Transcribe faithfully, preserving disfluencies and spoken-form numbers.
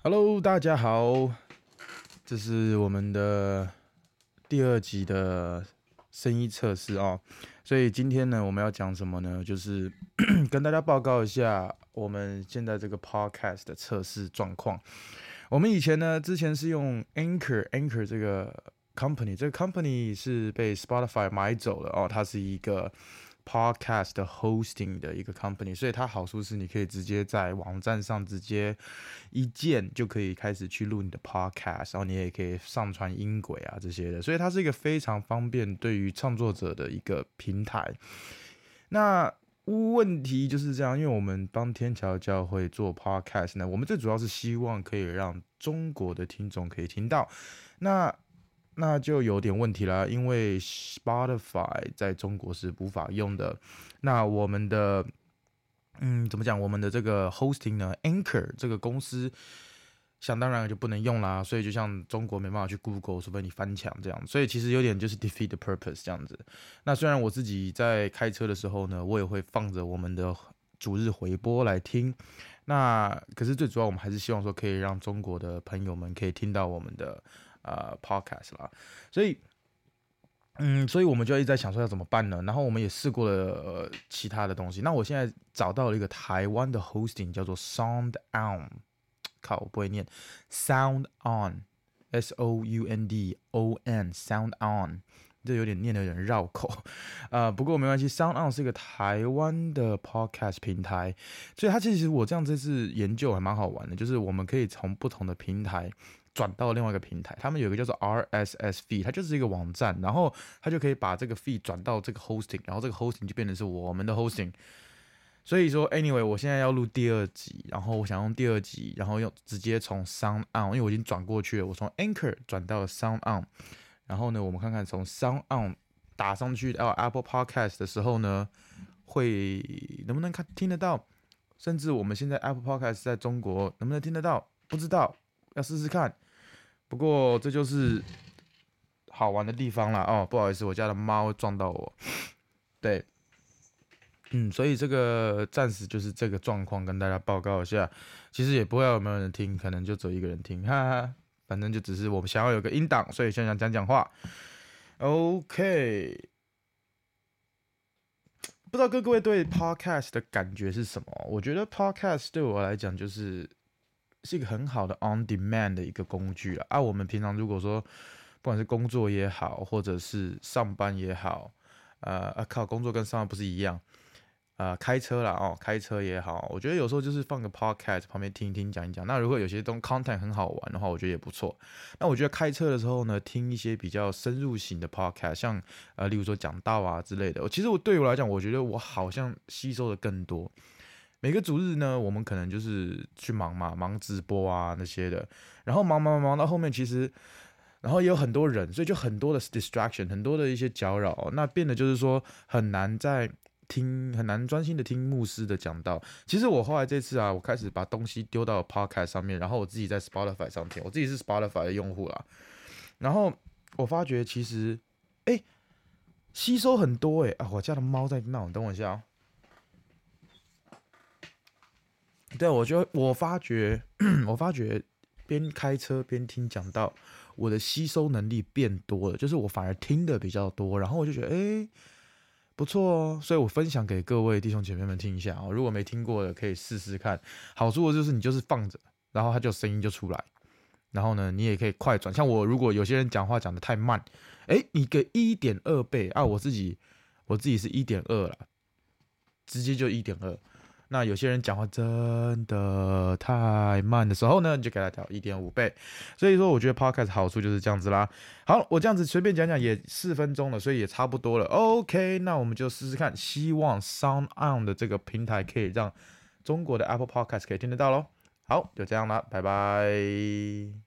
Hello，大家好，这是我们的第二集的声音测试哦。所以今天呢，我们要讲什么呢？就是跟大家报告一下我们现在这个 podcast 的测试状况。我们以前呢，之前是用 Anchor，Anchor 这个 company，这个 company 是被 Spotify 买走了哦，它是一个podcast 的 hosting 的一个 company，所以它好处是你可以直接在网站上直接一键就可以开始去录你的 podcast， 然后你也可以上传音轨啊这些的，所以它是一个非常方便对于创作者的一个平台。那问题就是这样，因为我们帮天桥教会做 podcast 呢，我们最主要是希望可以让中国的听众可以听到。那那就有点问题啦，因为 Spotify 在中国是无法用的。那我们的，嗯，怎么讲？我们的这个 hosting 呢 ，Anchor 这个公司，想当然就不能用啦。所以就像中国没办法去 Google，除非你翻墙这样。所以其实有点就是 defeat the purpose 这样子。那虽然我自己在开车的时候呢，我也会放着我们的主日回播来听。那可是最主要，我们还是希望说可以让中国的朋友们可以听到我们的。呃 podcast 啦，所以嗯，所以我们就一直在想说要怎么办呢？然后我们也试过了、呃、其他的东西。那我现在找到了一个台湾的 hosting， 叫做 Sound On， 靠，我不会念 Sound On，S O U N D O N，Sound On。这有点念的有点绕口，呃，不过没关系。Sound On 是一个台湾的 podcast 平台，所以它其实我这样这次研究还蛮好玩的，就是我们可以从不同的平台转到另外一个平台，他们有一个叫做 R S S feed， 它就是一个网站，然后它就可以把这个 feed 转到这个 hosting， 然后这个 hosting 就变成是我们的 hosting。所以说 ，anyway， 我现在要录第二集，然后我想用第二集，然后用直接从 Sound On， 因为我已经转过去了，我从 Anchor 转到 Sound On。然后呢，我们看看从 Sound On 打上去到 Apple Podcast 的时候呢，会能不能看听得到？甚至我们现在 Apple Podcast 在中国能不能听得到？不知道，要试试看。不过这就是好玩的地方啦。哦，不好意思，我家的猫撞到我。对，嗯，所以这个暂时就是这个状况，跟大家报告一下。其实也不会有没有人听，可能就只有一个人听，哈哈。反正就只是我们想要有个音档，所以先想讲讲话。OK， 不知道各位对 Podcast 的感觉是什么？我觉得 Podcast 对我来讲就是是一个很好的 on demand 的一个工具啦。啊，我们平常如果说不管是工作也好，或者是上班也好，呃，啊靠，工作跟上班不是一样？呃，开车啦，哦，开车也好，我觉得有时候就是放个 podcast 旁边听一听，讲一讲。那如果有些东 content 很好玩的话，我觉得也不错。那我觉得开车的时候呢，听一些比较深入型的 podcast，像呃，例如说讲道啊之类的。其实我对我来讲，我觉得我好像吸收的更多。每个主日呢，我们可能就是去忙嘛，忙直播啊那些的，然后忙忙忙到后面，其实。然后也有很多人，所以就很多的 distraction， 很多的一些搅扰，那变得就是说很难在听，很难专心的听牧师的讲道。其实我后来这次啊，我开始把东西丢到 podcast 上面，然后我自己在 Spotify 上听，我自己是 Spotify 的用户啦。然后我发觉其实，哎，吸收很多哎啊！我家的猫在闹，等我一下哦。对，我就我发觉，我发觉边开车边听讲道，我的吸收能力变多了，就是我反而听的比较多，然后我就觉得，哎，不错哦，所以我分享给各位弟兄姐妹们听一下哦。如果没听过的，可以试试看。好处就是你就是放着，然后它就声音就出来，然后呢，你也可以快转。像我，如果有些人讲话讲得太慢，哎，你给一点二倍啊，我自己我自己是一点二啦，直接就一点二。那有些人讲话真的太慢的时候呢，你就给他调一点五倍。所以说，我觉得 podcast 好处就是这样子啦。好，我这样子随便讲讲也四分钟了，所以也差不多了。OK， 那我们就试试看，希望 Sound On 的这个平台可以让中国的 Apple Podcast 可以听得到咯。好，就这样啦，拜拜。